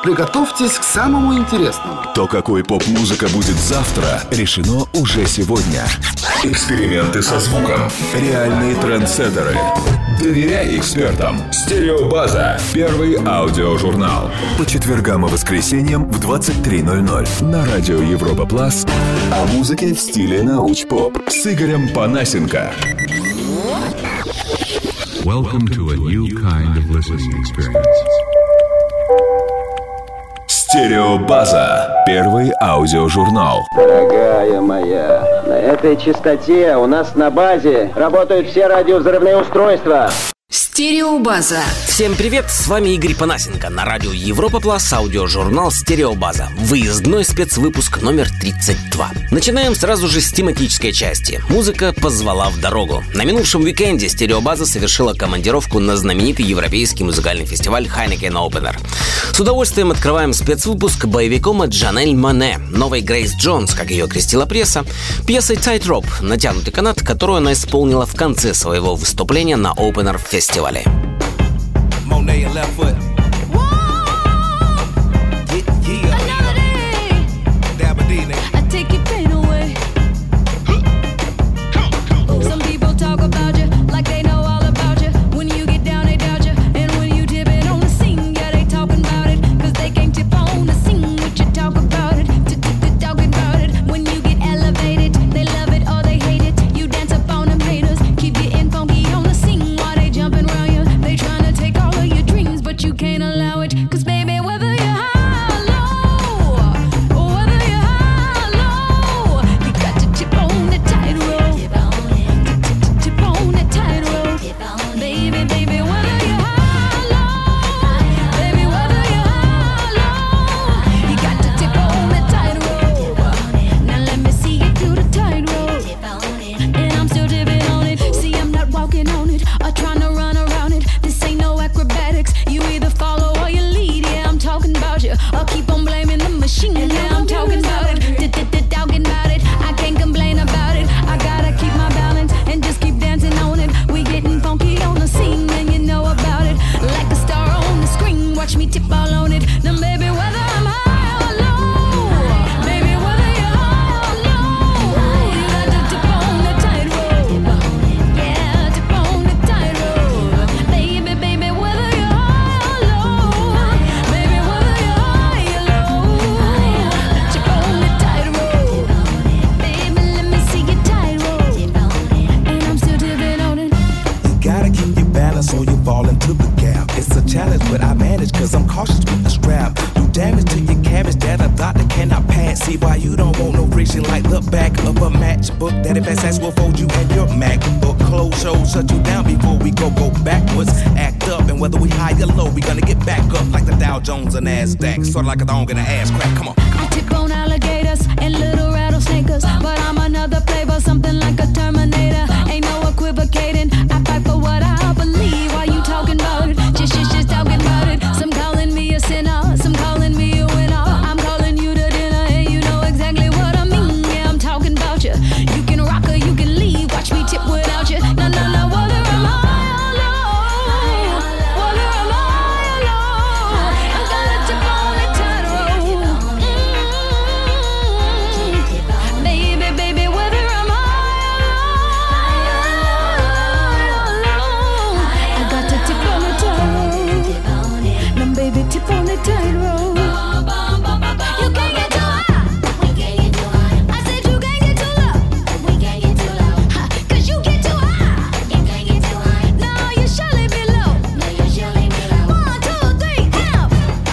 Приготовьтесь к самому интересному. То, какой поп-музыка будет завтра, решено уже сегодня. Эксперименты со звуком. Реальные трендсеттеры. Доверяй экспертам. Стереобаза. Первый аудиожурнал. По четвергам и воскресеньям в 23:00 на радио Европа Плас. О музыке в стиле научпоп с Игорем Панасенко. Welcome to a new kind of listening experience. Стереобаза. Первый аудиожурнал. Дорогая моя, на этой частоте у нас на базе работают все радиовзрывные устройства. Стереобаза. Всем привет, с вами Игорь Панасенко. На радио Европа Плас аудиожурнал «Стереобаза». Выездной спецвыпуск номер 32. Начинаем сразу же с тематической части. Музыка позвала в дорогу. На минувшем уикенде «Стереобаза» совершила командировку на знаменитый европейский музыкальный фестиваль Heineken Opener. С удовольствием открываем спецвыпуск боевиком от Жанель Моне, новой Грейс Джонс, как ее крестила пресса, пьесой «Tightrope», натянутый канат, которую она исполнила в конце своего выступления на Opener фестивале. Monet and left foot. Another day. Dabba-dee, I take your pain away. Some people talk about you like they know all about you. When you get down, they doubt you. And when you tip it on the scene, yeah, they talking about it. Cause they can't tip on the scene what you talk about it. Talking about it. When you get elevated, they love it or they hate it. You dance up on them haters. Keep getting funky on the scene while they jumping around you. They trying to take all of your dreams, but you can't allow it. Cause baby, whether you're high or low, or whether you're high or low, you got to tip on the tightrope. Tip on the tightrope. Baby, baby, whether you're high or low, baby, whether you're high or low, you got to tip on the tightrope. Now let me see you do the tightrope. And I'm still tipping on it. See, I'm not walking on it or trying to run around it. This ain't no acrobatics. You either follow or you lead. Yeah, I'm talking about you. Or keep on blaming the machine. Yeah, I'm talking about it. Talking about it. I can't complain about it. I gotta keep my balance and just keep dancing on it. We getting funky on the scene and you know about it. Like a star on the screen. Watch me tip all on it. Now, baby, whether I'm high or low, baby, whether you're high or low, you got to tip on the tightrope. Yeah, tip on the tightrope. Baby, baby, whether you're high or low, baby, whether you're high or low, tip on the tightrope. Baby, let me see your tightrope. And I'm still tipping on it. You gotta keep your balance or you fall into the gap. It's a challenge, but I manage cause I'm cautious with the strap. Do damage to your cabbage that a doctor cannot pass. See why you don't want no friction like the back of a matchbook. That if SS will fold you and your MacBook. Close shows shut you down before we go backwards. Act up and whether we high or low, we gonna get back up like the Dow Jones or NASDAQ. Sort of like a dog in an ass crack, come on. I tip on alligators and little rattlesnakers, but I'm another flavor, something like a Terminator. Ain't no equivocating. I fight for what I believe. Why you talking about it? Just talking about it. Some calling me a sinner, some calling me a winner. I'm calling you to dinner, and you know exactly what I mean. Yeah, I'm talking about you. You can rock or you can leave. Watch me tip without you. No, no, no. Whether I'm high or low, whether I'm high or low, I gotta tip on the tightrope. Baby, baby, whether I'm high or low, I got to tip on the tightrope. Now, baby, tip on the tightrope. You can't get too high. I said you can't get too low. Cause you get too high. No, you surely be low. 1, 2, 3, help.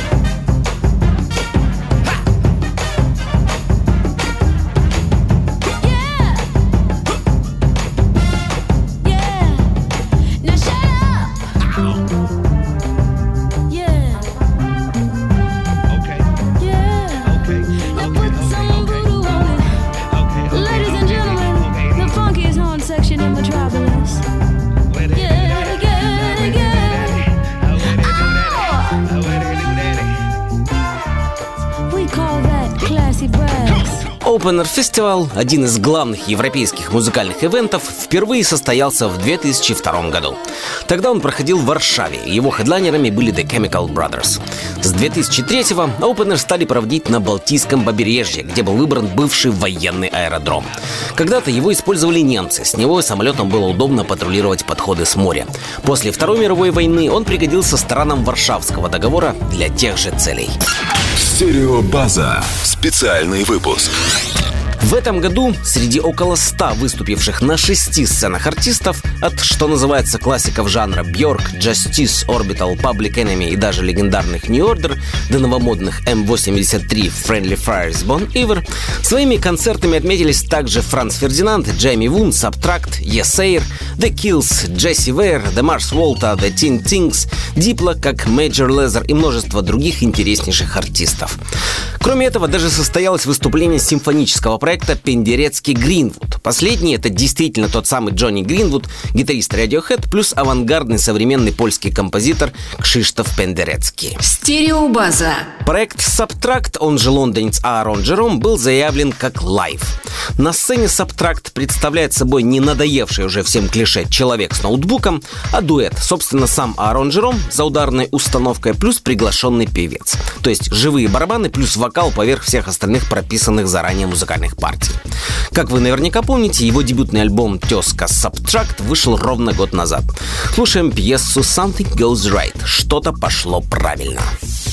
Yeah. Yeah. Now shut up. Yeah. Opener Festival, один из главных европейских музыкальных ивентов, впервые состоялся в 2002 году. Тогда он проходил в Варшаве, и его хедлайнерами были The Chemical Brothers. С 2003-го Opener стали проводить на Балтийском побережье, где был выбран бывший военный аэродром. Когда-то его использовали немцы, с него самолетом было удобно патрулировать подходы с моря. После Второй мировой войны он пригодился странам Варшавского договора для тех же целей. Стереобаза. Специальный выпуск. В этом году среди около 100 выступивших на 6 сценах артистов, от, что называется, классиков жанра Björk, Justice, Orbital, Public Enemy и даже легендарных New Order до новомодных M83, Friendly Fires, Bon Iver, своими концертами отметились также Франц Фердинанд, Джейми Вун, Subtract, Yesair, The Kills, Джесси Вейер, The Mars Volta, The Teen Tings, Diplo, как Major Lazer и множество других интереснейших артистов. Кроме этого, даже состоялось выступление симфонического проекта «Пендерецкий Гринвуд». Последний — это действительно тот самый Джонни Гринвуд, гитарист Radiohead, плюс авангардный современный польский композитор Кшиштоф Пендерецкий. Стереобаза. Проект Subtract, он же лондонец Аарон Джером, был заявлен как лайв. На сцене Subtract представляет собой не надоевший уже всем клише человек с ноутбуком, а дуэт, собственно, сам Аарон Джером за ударной установкой плюс приглашенный певец. То есть живые барабаны плюс вокал поверх всех остальных прописанных заранее музыкальных партий. Как вы наверняка помните, его дебютный альбом «Тезка Subtract» вышел ровно год назад. Слушаем пьесу «Something Goes Right» — «Что-то пошло правильно».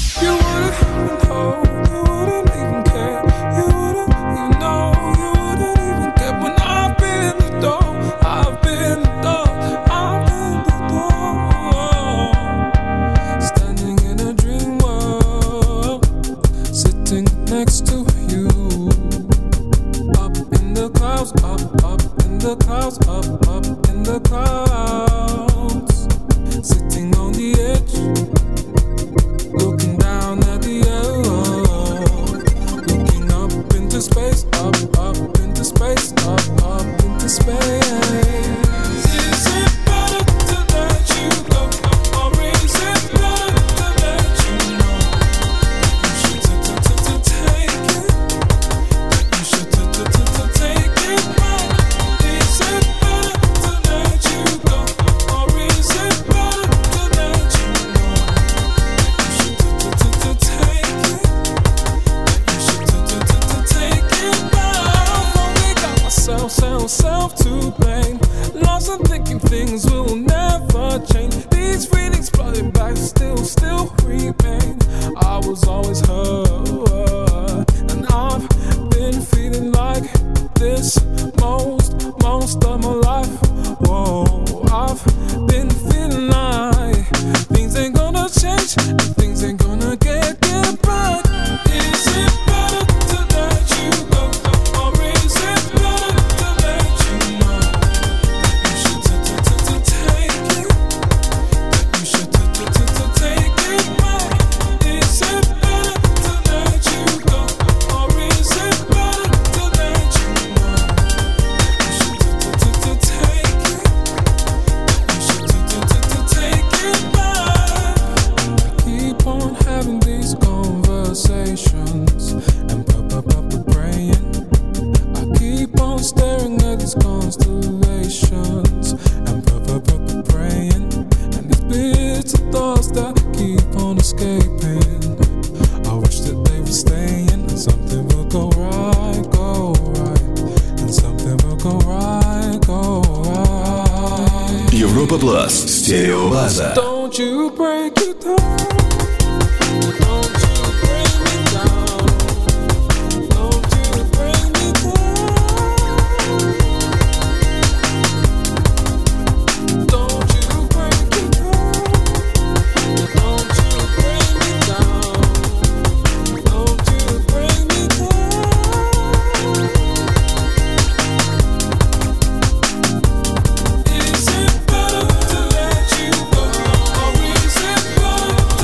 Европа Плас. Стереобаза. Don't you break it down. Don't you bring me down. Don't you bring me down. Don't you break it down. Don't you bring me down. Don't you bring me down. Is it better to let you go, or is it better?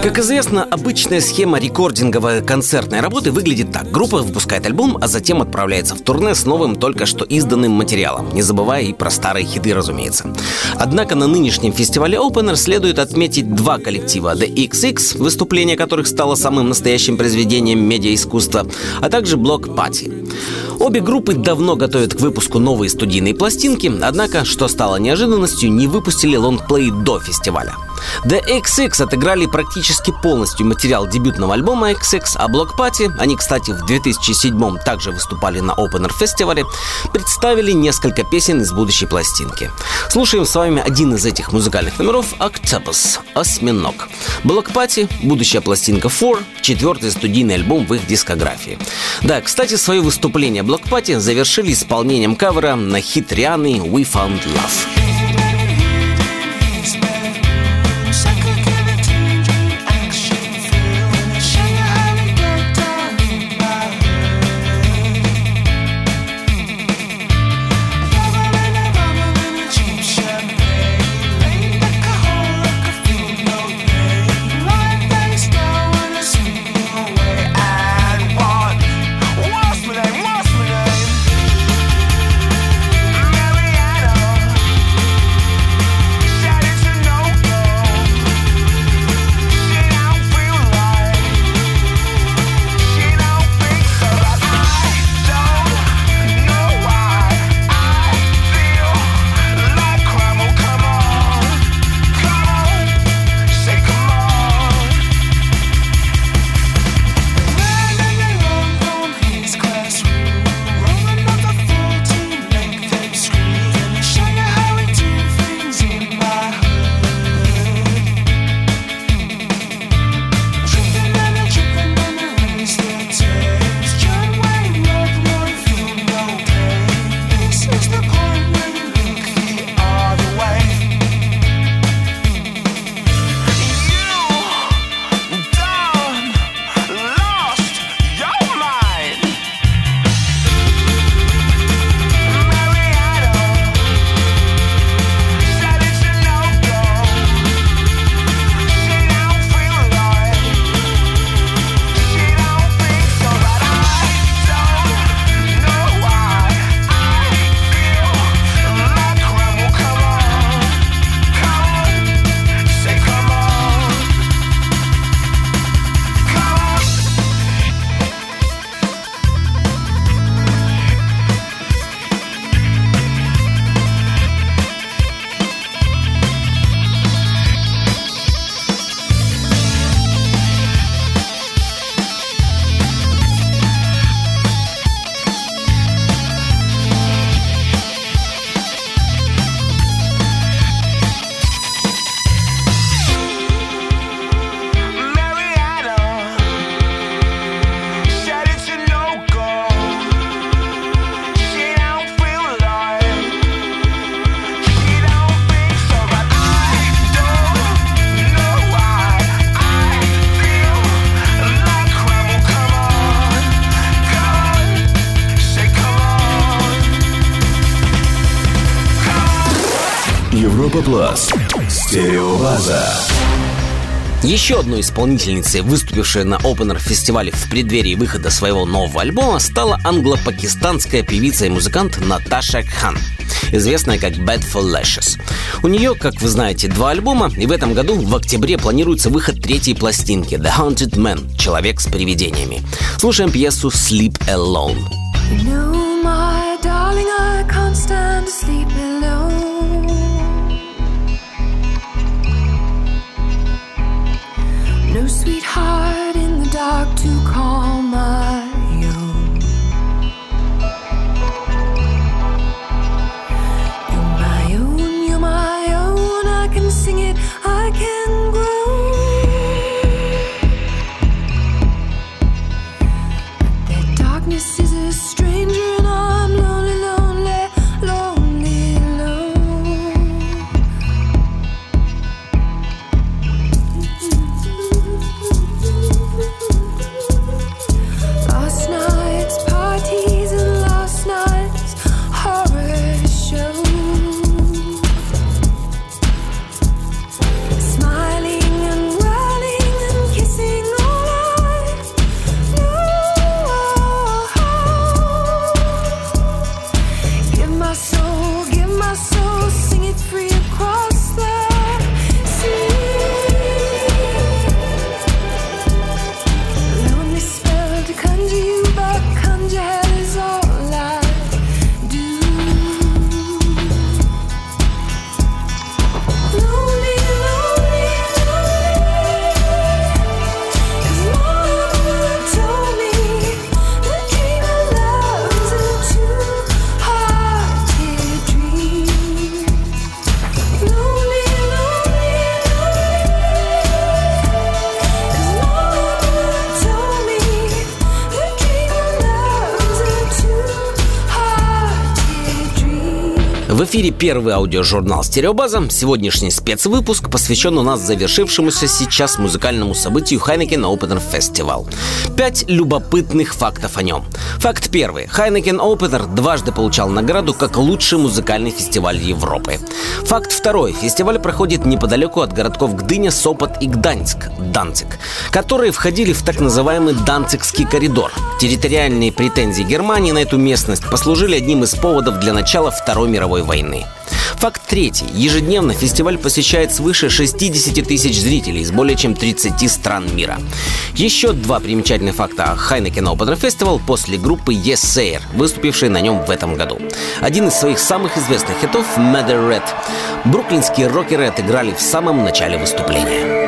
Как известно, обычная схема рекординговой концертной работы выглядит так. Группа выпускает альбом, а затем отправляется в турне с новым, только что изданным материалом, не забывая и про старые хиты, разумеется. Однако на нынешнем фестивале Opener следует отметить два коллектива: The XX, выступление которых стало самым настоящим произведением медиаискусства, а также Bloc Party. Обе группы давно готовят к выпуску новые студийные пластинки, однако, что стало неожиданностью, не выпустили лонгплей до фестиваля. The XX отыграли практически полностью материал дебютного альбома XX, а Bloc Party, они, кстати, в 2007-м также выступали на Opener фестивале, представили несколько песен из будущей пластинки. Слушаем с вами один из этих музыкальных номеров — Octopus, «Осьминог». Bloc Party, будущая пластинка Four, четвертый студийный альбом в их дискографии. Да, кстати, свое выступление Bloc Party завершили исполнением кавера на хит Рианны «We Found Love». Европа Плас. Стереобаза. Еще одной исполнительницей, выступившей на Opener фестивале в преддверии выхода своего нового альбома, стала англо-пакистанская певица и музыкант Наташа Кхан, известная как Bad for Lashes. У нее, как вы знаете, 2 альбома, и в этом году, в октябре, планируется выход 3-й пластинки The Haunted Man, «Человек с привидениями». Слушаем пьесу Sleep Alone. No, my darling, I can't stand to sleep alone. No sweetheart in the dark to call my own. You're my own, I can sing it, I can grow. But their darkness is a stranger and I'm lonely, lonely, lonely, В эфире первый аудиожурнал «Стереобаза». Сегодняшний спецвыпуск посвящен у нас завершившемуся сейчас музыкальному событию Heineken Opener Festival. 5 любопытных фактов о нем. Факт первый. Heineken Opener дважды получал награду как лучший музыкальный фестиваль Европы. Факт второй. Фестиваль проходит неподалеку от городков Гдыня, Сопот и Данциг, которые входили в так называемый Данцигский коридор. Территориальные претензии Германии на эту местность послужили одним из поводов для начала Второй мировой войны. Факт третий. Ежедневно фестиваль посещает свыше 60 тысяч зрителей из более чем 30 стран мира. Еще 2 примечательных факта о Heineken Opener Festival после группы Yes Sir, выступившей на нем в этом году. Один из своих самых известных хитов Mother Red бруклинские рокеры отыграли в самом начале выступления.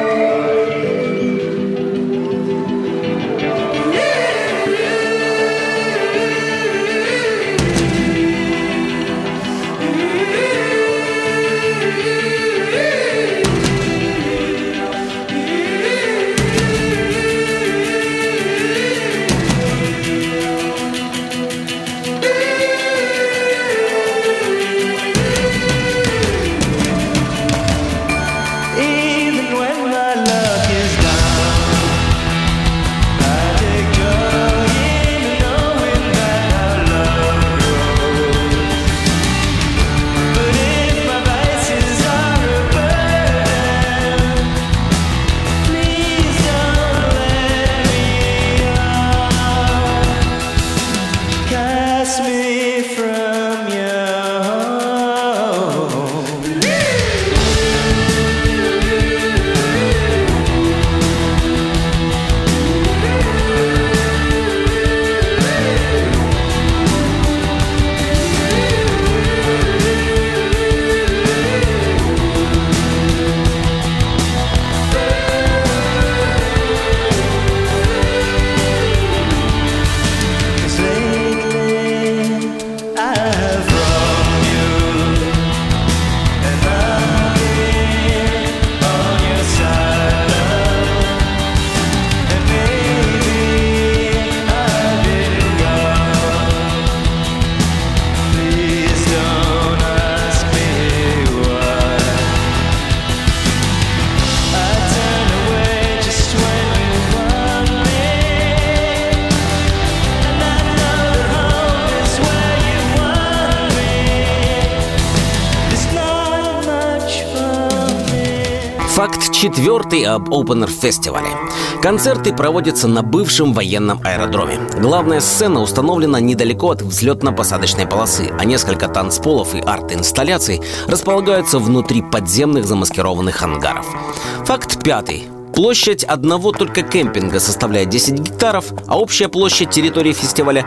Факт четвертый об Opener фестивале. Концерты проводятся на бывшем военном аэродроме. Главная сцена установлена недалеко от взлетно-посадочной полосы, а несколько танцполов и арт-инсталляций располагаются внутри подземных замаскированных ангаров. Факт пятый. Площадь одного только кемпинга составляет 10 гектаров, а общая площадь территории фестиваля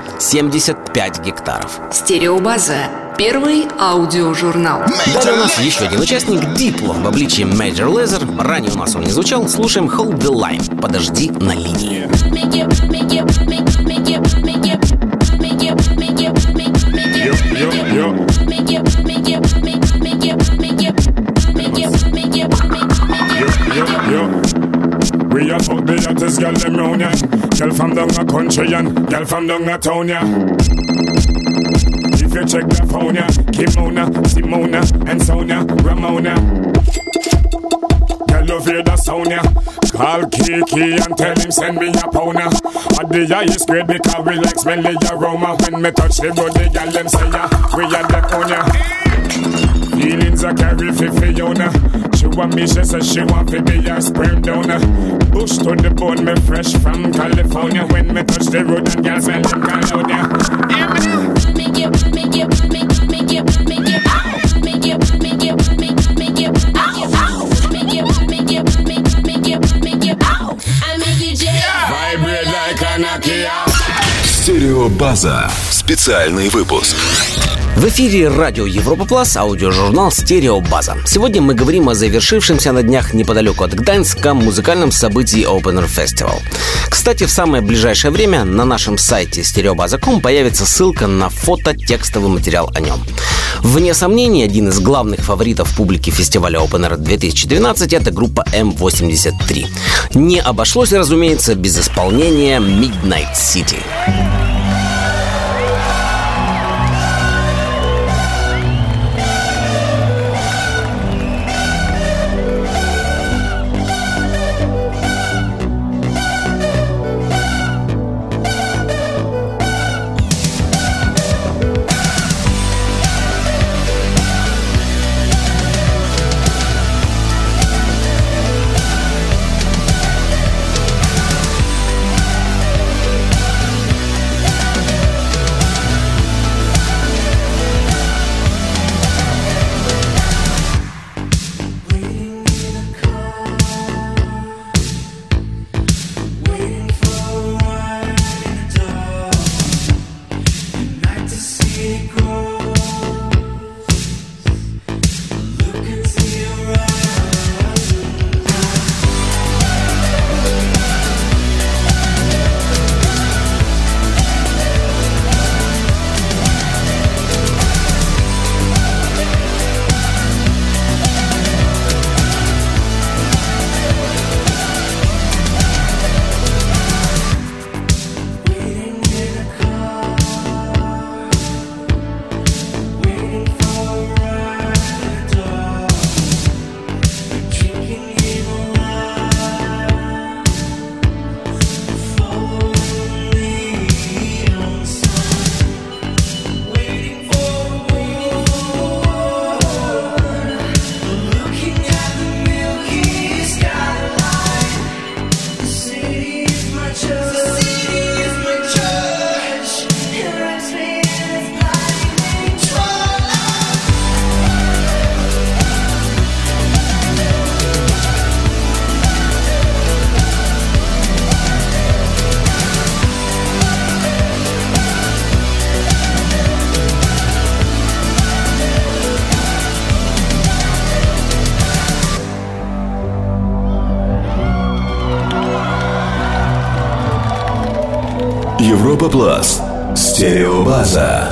75 гектаров. Стереобаза. Первый аудиожурнал. Далее у нас еще один участник Дипло в обличии Major Lazer. Ранее у нас он не звучал. Слушаем Hold the Line. Подожди на линии. We are fuck the hottest girl them round ya. Girl from down a country and girl from down a town ya. If you check the phone ya, Kimona, Simona and Sonia, Ramona. Girl love hear the sound ya. Call Kiki and tell him send me a pound ya. At the highest grade because we like smelly aroma. When me touch the body, girl them say ya, we are the on ya. Feelings I carry for Fiona. She want me, she says she want to be a sperm donor. Bush to the bone, me fresh from California. When me touch the road and girls smell them California. Vibrate like a Nokia. Стереобаза. Специальный выпуск. В эфире радио Европа Плюс, аудиожурнал «Стереобаза». Сегодня мы говорим о завершившемся на днях неподалеку от Гданьска музыкальном событии Opener Festival. Кстати, в самое ближайшее время на нашем сайте stereobaza.com появится ссылка на фото-текстовый материал о нем. Вне сомнений, один из главных фаворитов публики фестиваля Opener 2012 – это группа M83. Не обошлось, разумеется, без исполнения Midnight City. Европа Плас. Стереобаза.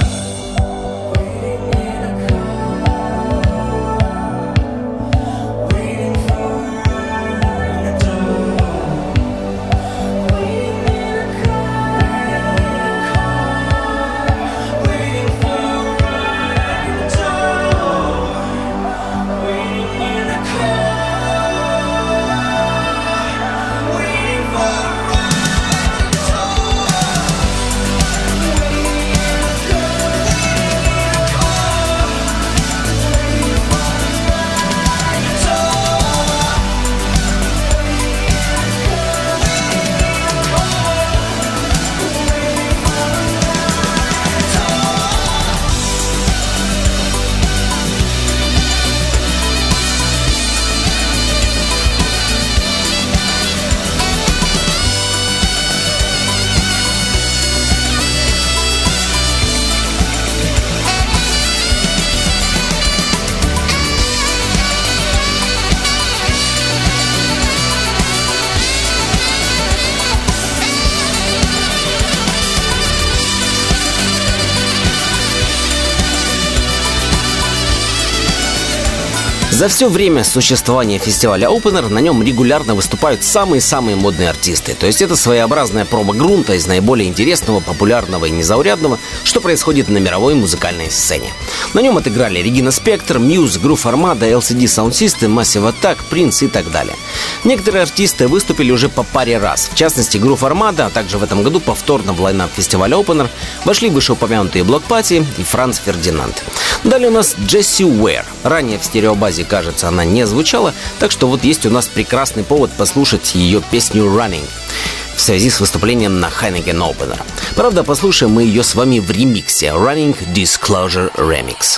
За все время существования фестиваля Opener на нем регулярно выступают самые-самые модные артисты. То есть это своеобразная проба грунта из наиболее интересного, популярного и незаурядного, что происходит на мировой музыкальной сцене. На нем отыграли Regina Spektor, Muse, Groove Armada, LCD Sound System, Massive Attack, Prince и так далее. Некоторые артисты выступили уже по паре раз. В частности, Groove Armada, а также в этом году повторно в лайнап фестиваля Opener вошли вышеупомянутые Bloc Party и Франц Фердинанд. Далее у нас Jessie Ware. Ранее в стереобазе, кажется, она не звучала, так что вот есть у нас прекрасный повод послушать ее песню «Running» в связи с выступлением на Heineken Opener. Правда, послушаем мы ее с вами в ремиксе «Running Disclosure Remix».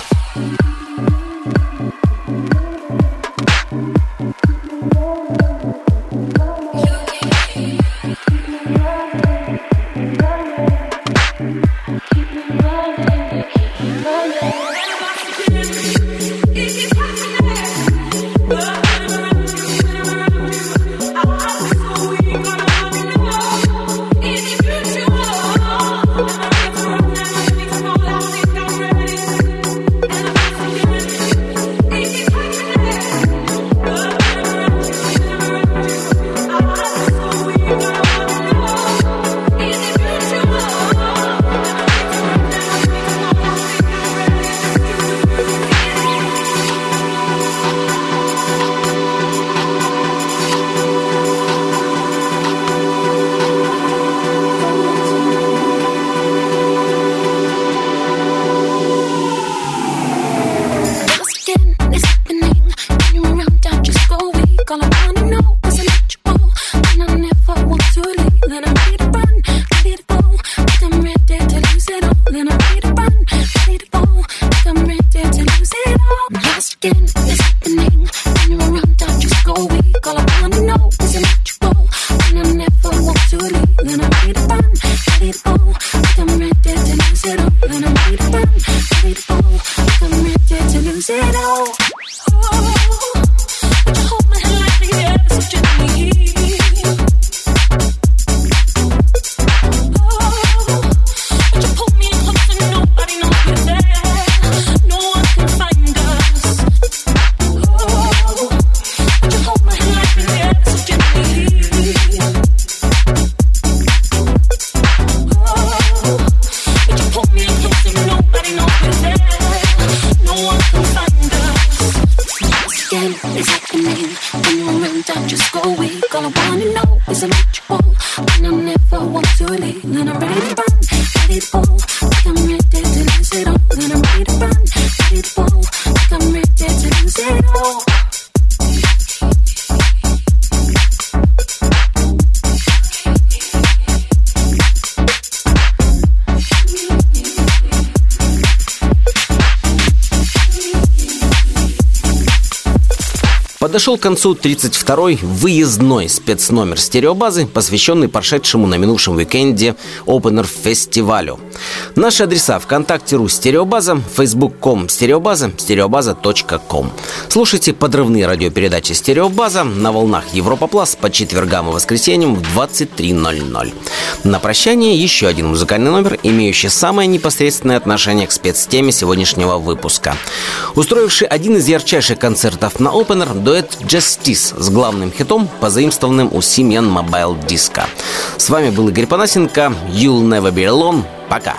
Подошел к концу 32-й выездной спецномер стереобазы, посвященный прошедшему на минувшем уикенде Опенер-фестивалю. Наши адреса: ВКонтакте.ру стереобаза, Facebook.com стереобаза, стереобаза.com. Слушайте подрывные радиопередачи «Стереобаза» на волнах Европа Плас по четвергам и воскресеньям в 23:00. На прощание еще один музыкальный номер, имеющий самое непосредственное отношение к спецтеме сегодняшнего выпуска. Устроивший один из ярчайших концертов на Опенер, дуэт Justice с главным хитом, позаимствованным у Simian Mobile Disco. С вами был Игорь Панасенко. You'll never be alone. Пока.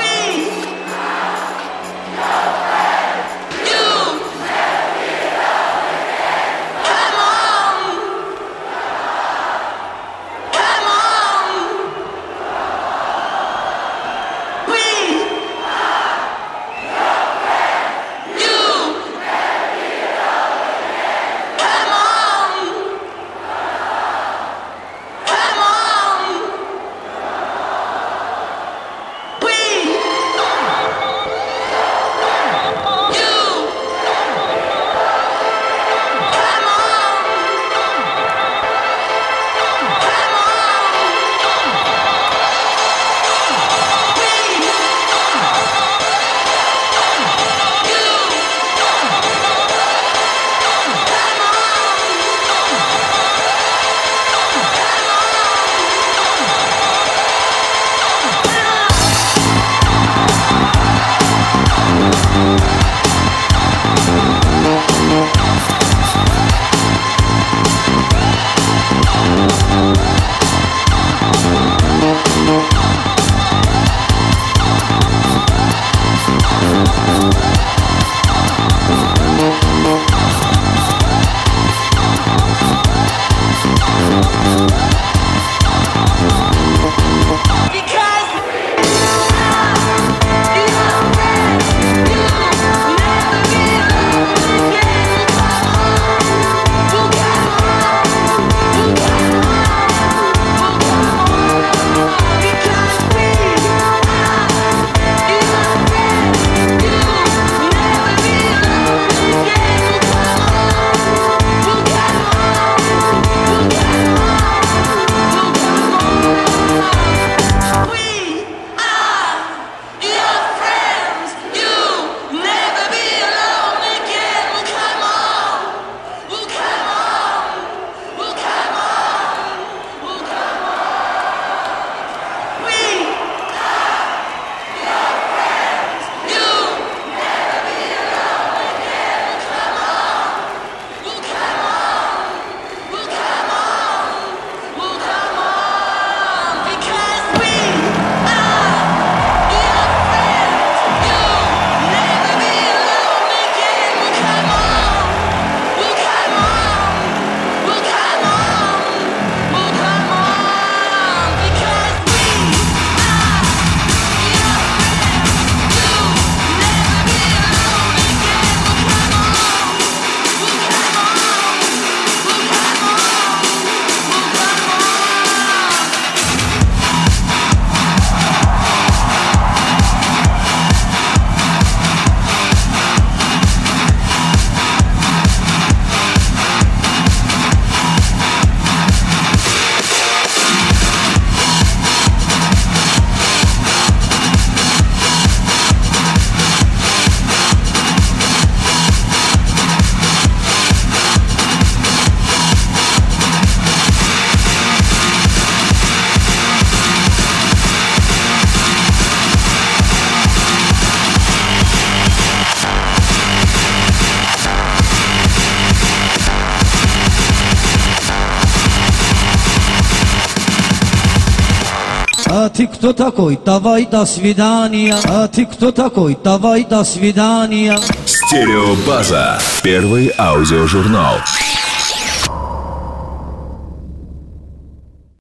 А ты кто такой? Давай до свидания. А ты кто такой? Давай до свидания. Стереобаза. Первый аудиожурнал.